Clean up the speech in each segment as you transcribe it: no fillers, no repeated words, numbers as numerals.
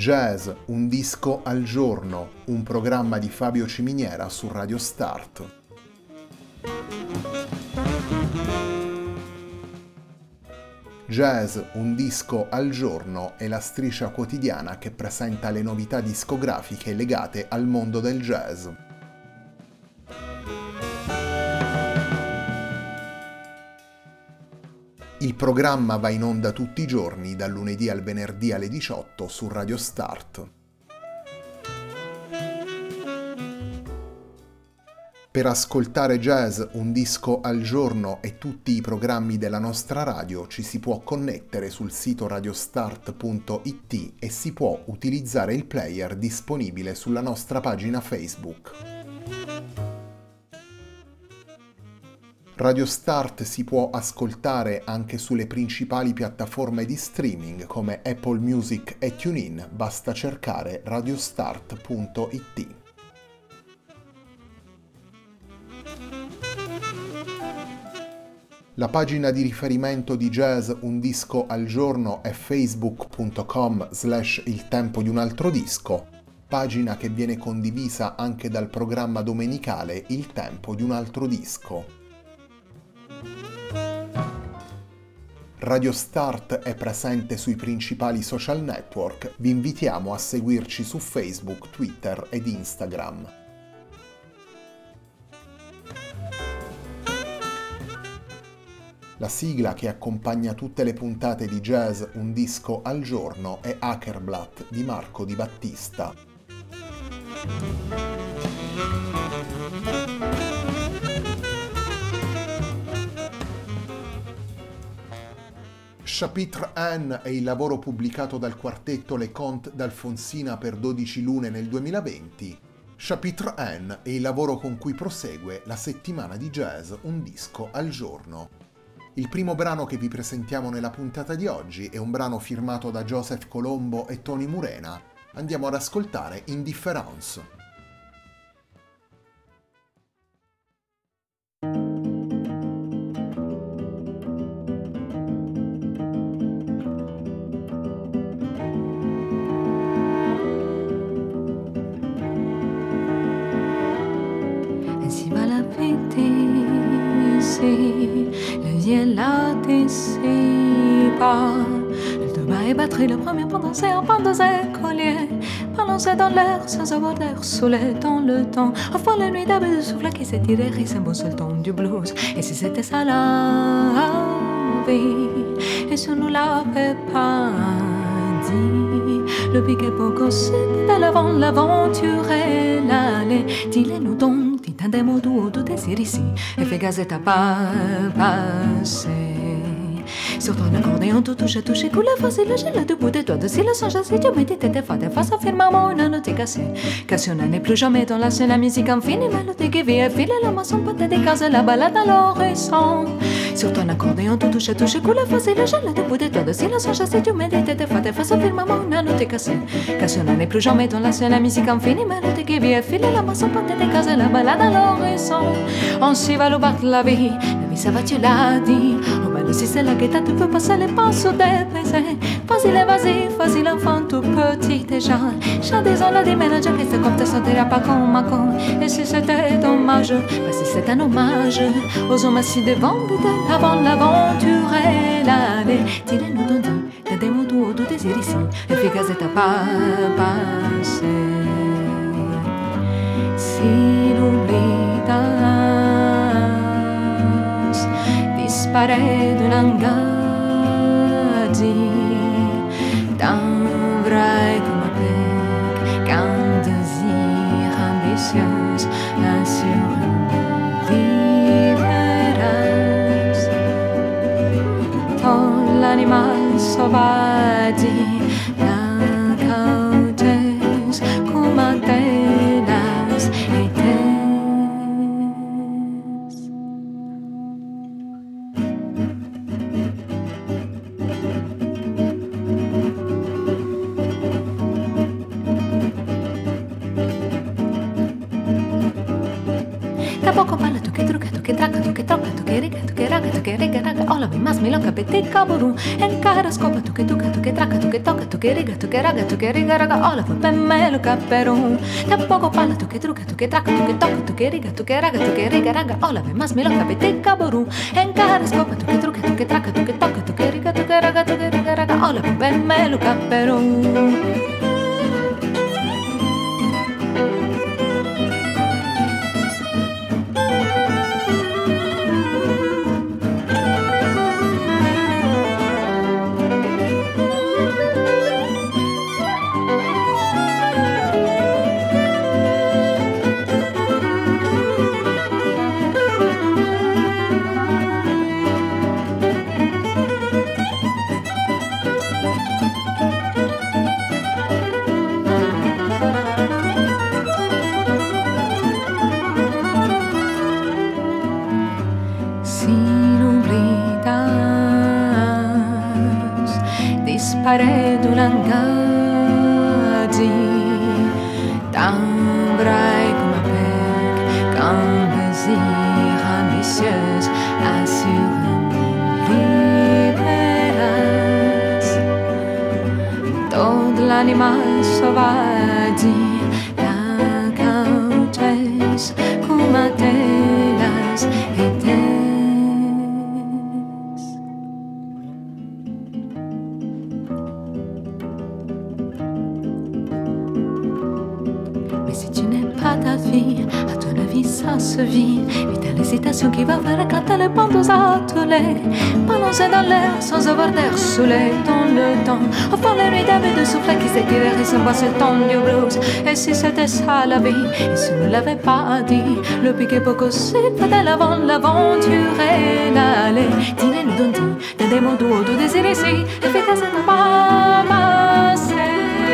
Jazz, un disco al giorno, un programma di Fabio Ciminiera su Radio Start. Jazz, un disco al giorno è la striscia quotidiana che presenta le novità discografiche legate al mondo del jazz. Il programma va in onda tutti i giorni, dal lunedì al venerdì alle 18 su Radio Start. Per ascoltare Jazz, un disco al giorno e tutti i programmi della nostra radio ci si può connettere sul sito radiostart.it e si può utilizzare il player disponibile sulla nostra pagina Facebook. Radio Start si può ascoltare anche sulle principali piattaforme di streaming come Apple Music e TuneIn, basta cercare radiostart.it. La pagina di riferimento di Jazz Un Disco al Giorno è facebook.com/il tempo di un altro disco, pagina che viene condivisa anche dal programma domenicale Il tempo di un altro disco. Radio Start è presente sui principali social network, vi invitiamo a seguirci su Facebook, Twitter ed Instagram. La sigla che accompagna tutte le puntate di Jazz Un Disco al Giorno è Hackerblatt di Marco Di Battista. Chapitre 1 è il lavoro pubblicato dal quartetto Les Contes d'Alfonsina per 12 lune nel 2020. Chapitre 1 è il lavoro con cui prosegue la settimana di Jazz Un Disco al Giorno. Il primo brano che vi presentiamo nella puntata di oggi è un brano firmato da Joseph Colombo e Tony Murena. Andiamo ad ascoltare Indifference. Ainsi va la vie d'ici, le ciel l'anticipe. Le tuba est batterie, le premier point dansé en pan de ses colliers, balancé dans l'air sans avoir l'air saoulé dans le temps. Enfin la nuit d'abord de souffle qui s'étirait, et c'est bon seul ton du blues. Et si c'était ça la vie, et si on nous l'avait pas dit, le piquet pour possible de l'avant, l'aventure et l'aller. Dis-les-nous donc, dis un des mots doux, tout désir ici, et fais gazette à pas passer. Sur ton accordéon, tout touche, touche, coule facile, j'ai le debout de toi, de si le sang chassé, tu médites tes fautes, face à firmament, une note cassée. Cassionna n'est plus jamais dans la scène, la musique infinie, mélodie qui vit et file, la moisson peut te décaser, la balade à l'horizon. Sur ton accordéon, tout touche, touche, coule facile, j'ai le debout de toi, de si le sang chassé, tu médites tes fautes, face à firmament, une note cassée. Cassionna n'est plus jamais dans la scène, la musique infinie, mélodie qui vit et file, la moisson peut te décaser, la balade à l'horizon. On s'y va le battre la vie ça va, tu l'as dit. Oh ben si c'est la guetta, tu peux passer les pinceaux des baisers. Vas-y l'enfant tout petit déjà. J'ai des ans là des ménages qui se comptent, ça t'ira pas comme un con. Et si c'était dommage, ben si c'est un hommage aux hommes assis devant, peut-être avant l'aventure et l'aller. Dis-les-nous donc, t'as des mots doux, tout désir ici. Efficace et t'as pas passé. Si l'oubli t'a disparaît de l'engadi d'un vrai comme un bec, qu'un désir ambitieux assure une libérance. Dans l'animal sauvage, la cauteuse comme un télas était. Poco palla tu che trucca, tu che tracca, tu che trocca, tu che riga, tu che raga tu che riga raga ola mi mas mi loca petit caburu en cara scopa tu che traca tu che tocca tu che riga tu che raga tu che riga raga ola per me lo caperu tampoco palla tu che truca tu che traca tu che tocca tu che riga tu che raga tu che riga raga ola mi mas mi loca petit caburu en cara scopa tu che truca tu che traca tu che tocca tu che riga tu che raga tu che riga raga ola per me lo caperu. Dispare d'Ulangadi D'embray comme un bec Qu'un désir ambitieuse Assurément libéras Todo l'animal sauvage La cautesse Comme telas et ta vie, à ton avis ça se vit. Mais t'as l'hésitation qui va faire éclater les bandeaux attelés. Balancer dans l'air sans avoir d'air saoulé dans le temps. Au fond la nuit d'avait de soufflet qui s'étirait et s'embrassait le temps du blues. Et si c'était ça la vie, et si ne l'avait pas dit, le piquet poco c'est fait l'avant l'aventure et l'aller. Dîner nous donne des mots doux, du désir ici, efficace et pas passé.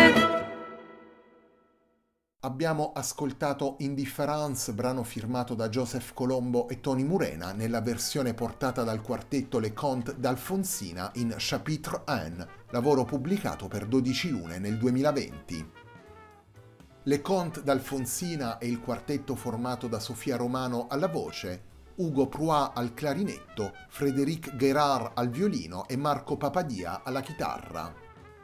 Abbiamo ascoltato Indifference, brano firmato da Joseph Colombo e Tony Murena nella versione portata dal quartetto Les Contes d'Alfonsina in Chapitre 1, lavoro pubblicato per 12 lune nel 2020. Les Contes d'Alfonsina è il quartetto formato da Sofia Romano alla voce, Ugo Pruà al clarinetto, Frédéric Guérard al violino e Marco Papadia alla chitarra.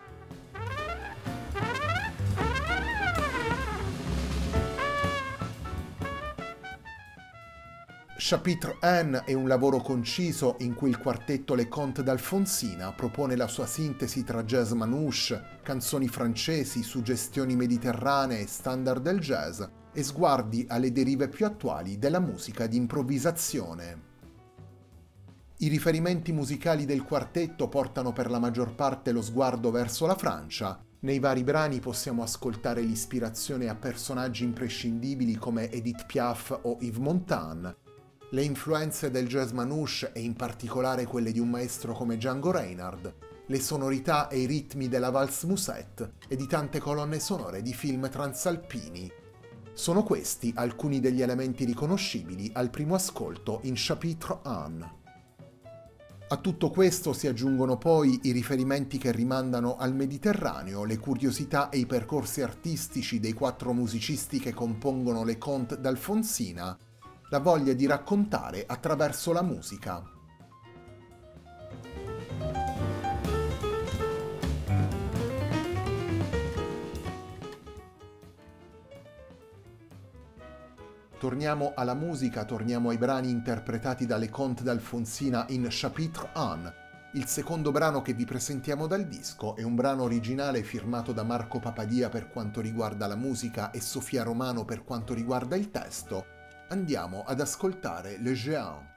Chapitre 1 è un lavoro conciso in cui il quartetto Les Contes d'Alfonsina propone la sua sintesi tra jazz manouche, canzoni francesi, suggestioni mediterranee e standard del jazz e sguardi alle derive più attuali della musica di improvvisazione. I riferimenti musicali del quartetto portano per la maggior parte lo sguardo verso la Francia. Nei vari brani possiamo ascoltare l'ispirazione a personaggi imprescindibili come Edith Piaf o Yves Montand, le influenze del jazz manouche e in particolare quelle di un maestro come Django Reinhardt, le sonorità e i ritmi della valse musette e di tante colonne sonore di film transalpini. Sono questi alcuni degli elementi riconoscibili al primo ascolto in Chapitre 1. A tutto questo si aggiungono poi i riferimenti che rimandano al Mediterraneo, le curiosità e i percorsi artistici dei 4 musicisti che compongono Les Contes d'Alfonsina, la voglia di raccontare attraverso la musica. Torniamo alla musica, torniamo ai brani interpretati dalle Contes d'Alfonsina in Chapitre 1. Il secondo brano che vi presentiamo dal disco è un brano originale firmato da Marco Papadia per quanto riguarda la musica e Sofia Romano per quanto riguarda il testo. Andiamo ad ascoltare Le Géant.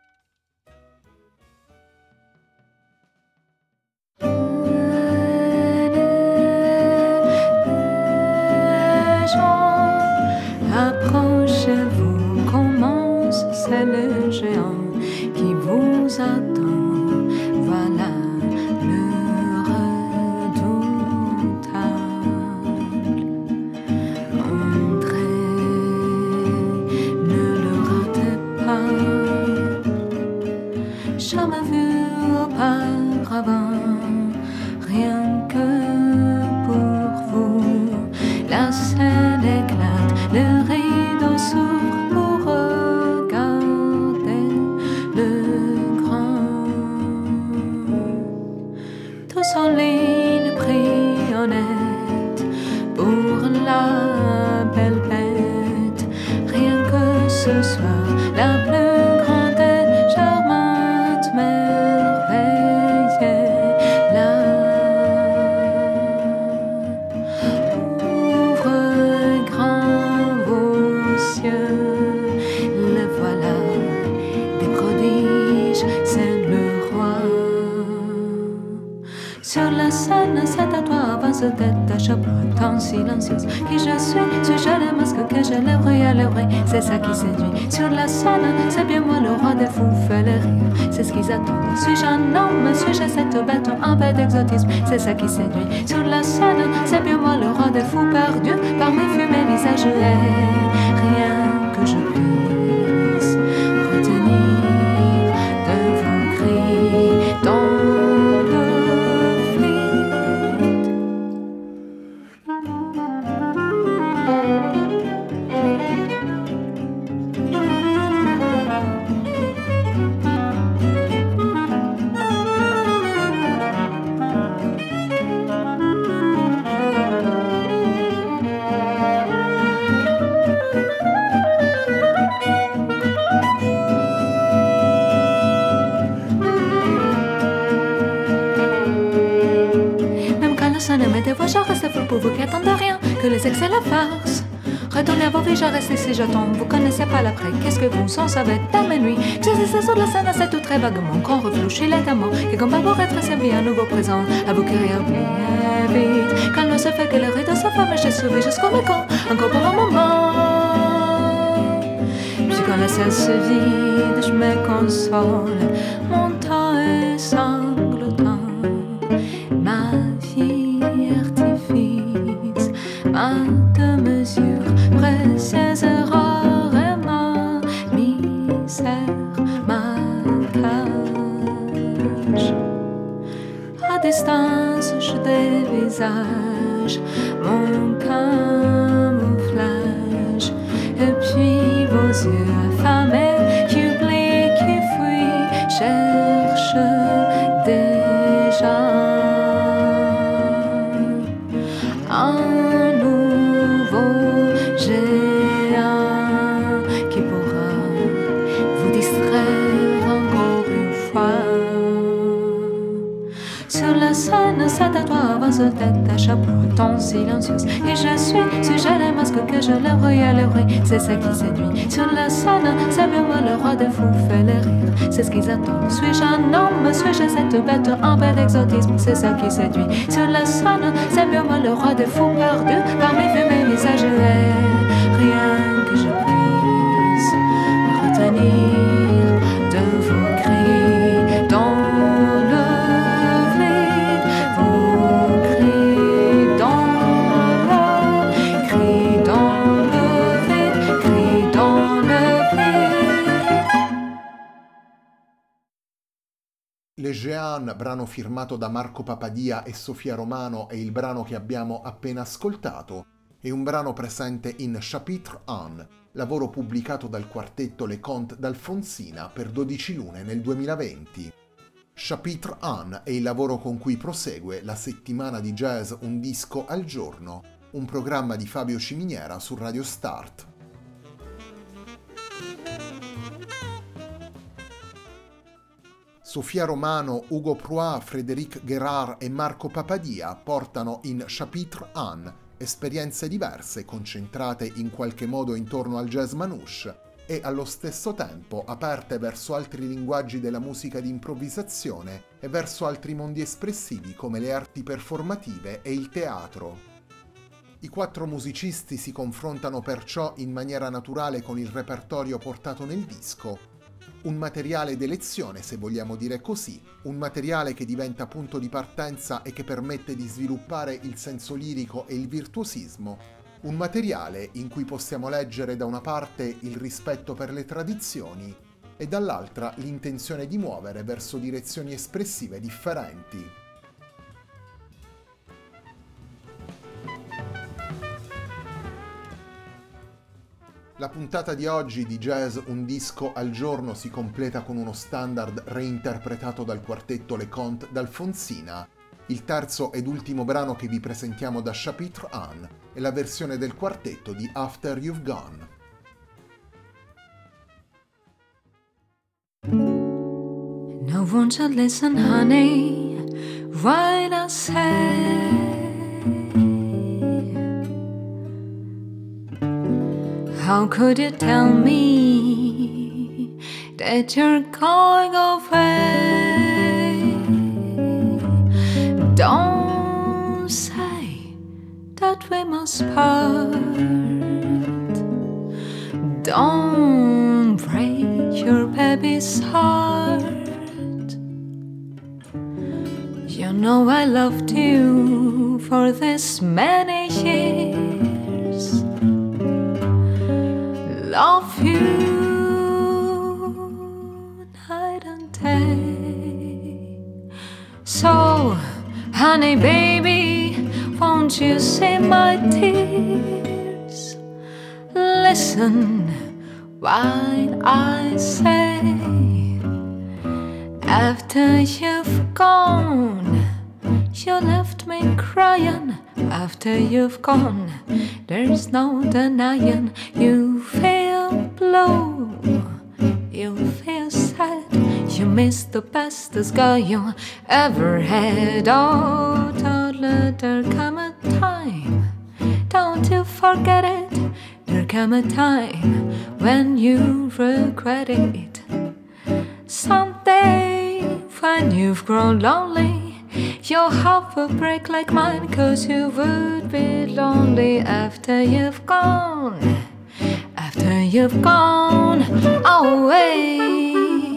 Approchez-vous, commence, c'est le géant qui vous attend. Voilà le redoutable. Entrez, ne le ratez pas. tous en ligne, pris honnête pour la belle bête. Rien que ce soit la plus grande et charmante merveille est là. Ouvrez grand vos cieux, le voilà, des prodiges, c'est le roi. Sur la scène, c'est à toi, avance tête à chapeau, tant silencieuse. Qui je suis-je le masque que je lèverai à l'oreille, c'est ça qui séduit. Sur la scène, c'est bien moi le roi des fous, fait le rire, c'est ce qu'ils attendent. Suis-je un homme, suis-je cette bête, un peu d'exotisme, c'est ça qui séduit. Sur la scène, c'est bien moi le roi des fous, perdu parmi fumées visages, et rien que je puisse retenir de vos cris dans le je reste folle pour vous qui attendez rien, que les excès la farce. Retournez à vos vies, je reste ici, j'attends. Vous connaissez pas l'après, qu'est-ce que vous en savez dans mes nuits? J'essaie sur la scène, c'est tout très vaguement qu'on réfléchit létamment. Et comme pour être servi un nouveau présent, à vous qui oubliez vite. Quand ne se fait que le rideau se ferme, j'ai sauvé jusqu'au mécon, encore pour un moment. Puis quand la salle se vide, je me console, mon temps est sanglotant. Ma vie artifice, ma de mesure précieuse, rare et ma misère, ma cage. À distance, je dévisage mon camouflage, et puis vos yeux affamés qui oublient, qui fuient, cherchent déjà un nouveau géant qui pourra vous distraire encore une fois. Sur la scène, c'est à toi, avance tête à chapeau, ton silencieuse. Et je suis-je le masque que je lèverai à l'oreille, c'est ça qui séduit. Sur la scène, c'est bien moi le roi des fous, fait le rire, c'est ce qu'ils attendent. Suis-je un homme, suis-je cette bête, un peu d'exotisme, c'est ça qui séduit. Sur la scène, c'est bien moi le roi des fous, perdu parmi fumées visages, et rien que je puisse retenir de vos cris dans le vide, vos cris dans le cris dans le vide, cris dans le vide. Le Géant, brano firmato da Marco Papadia e Sofia Romano, è il brano che abbiamo appena ascoltato. È un brano presente in Chapitre 1, lavoro pubblicato dal quartetto Les Contes d'Alfonsina per 12 lune nel 2020. Chapitre 1 è il lavoro con cui prosegue la settimana di jazz Un disco al giorno, un programma di Fabio Ciminiera su Radio Start. Sofia Romano, Ugo Proa, Frédéric Guérard e Marco Papadia portano in Chapitre 1 esperienze diverse concentrate in qualche modo intorno al jazz manouche e allo stesso tempo aperte verso altri linguaggi della musica di improvvisazione e verso altri mondi espressivi come le arti performative e il teatro. I 4 musicisti si confrontano perciò in maniera naturale con il repertorio portato nel disco, un materiale d'elezione, se vogliamo dire così, un materiale che diventa punto di partenza e che permette di sviluppare il senso lirico e il virtuosismo, un materiale in cui possiamo leggere da una parte il rispetto per le tradizioni e dall'altra l'intenzione di muovere verso direzioni espressive differenti. La puntata di oggi di Jazz Un disco al giorno si completa con uno standard reinterpretato dal quartetto Les Contes d'Alfonsina. Il terzo ed ultimo brano che vi presentiamo da Chapitre 1 è la versione del quartetto di After You've Gone. No one should listen, honey, what I say. How could you tell me that you're going away? Don't say that we must part. Don't break your baby's heart. You know I loved you for this many years. Love you night and day. So, honey baby, won't you see my tears? Listen while I say, after you've gone, you left me crying. After you've gone, there's no denying. You feel blue, you feel sad. You miss the bestest girl you ever had. Oh, don't let there come a time, don't you forget it. There come a time when you regret it. Someday when you've grown lonely, you'll have a break like mine, 'cause you would be lonely after you've gone. After you've gone away.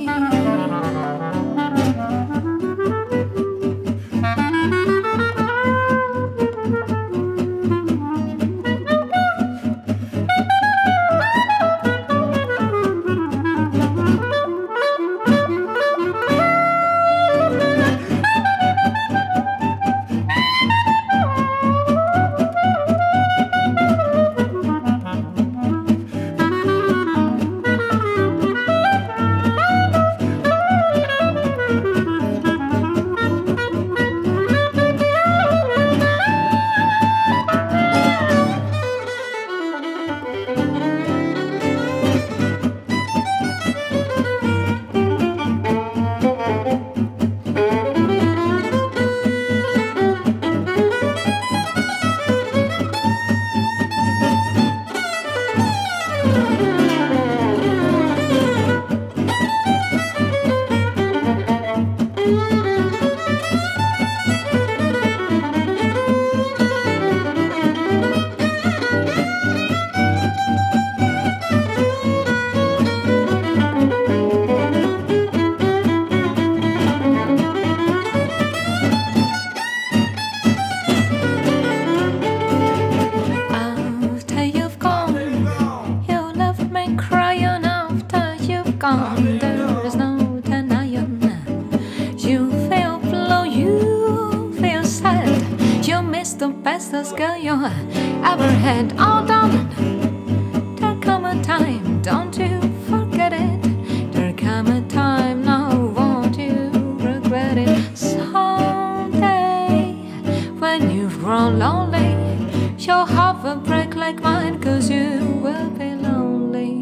There is no denying. You feel blue, you feel sad. You miss the bestest girl you ever had. Oh, darling, there come a time, don't you forget it. There come a time, now won't you regret it. Someday, when you've grown lonely, you'll have a break like mine, 'cause you will be lonely.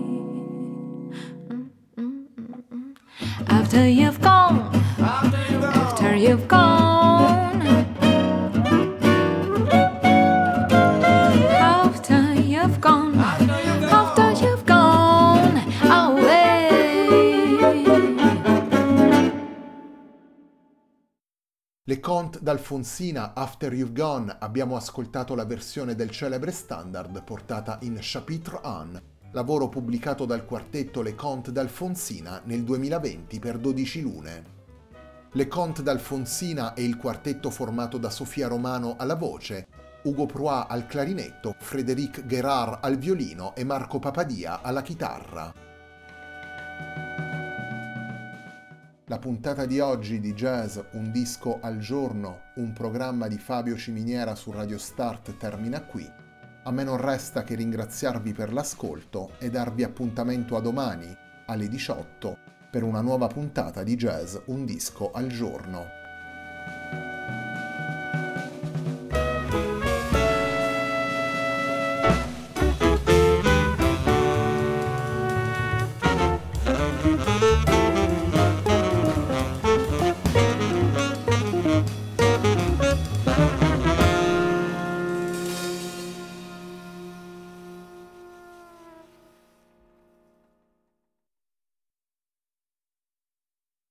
After you've gone, after you've gone, after you've gone, after you've gone away. Le Conte d'Alfonsina, After You've Gone, abbiamo ascoltato la versione del celebre standard portata in Chapitre 1, lavoro pubblicato dal quartetto Le Conte d'Alfonsina nel 2020 per 12 lune. Le Conte d'Alfonsina è il quartetto formato da Sofia Romano alla voce, Ugo Proy al clarinetto, Frédéric Guérard al violino e Marco Papadia alla chitarra. La puntata di oggi di Jazz Un disco al giorno, un programma di Fabio Ciminiera su Radio Start termina qui. A me non resta che ringraziarvi per l'ascolto e darvi appuntamento a domani alle 18 per una nuova puntata di Jazz Un disco al giorno.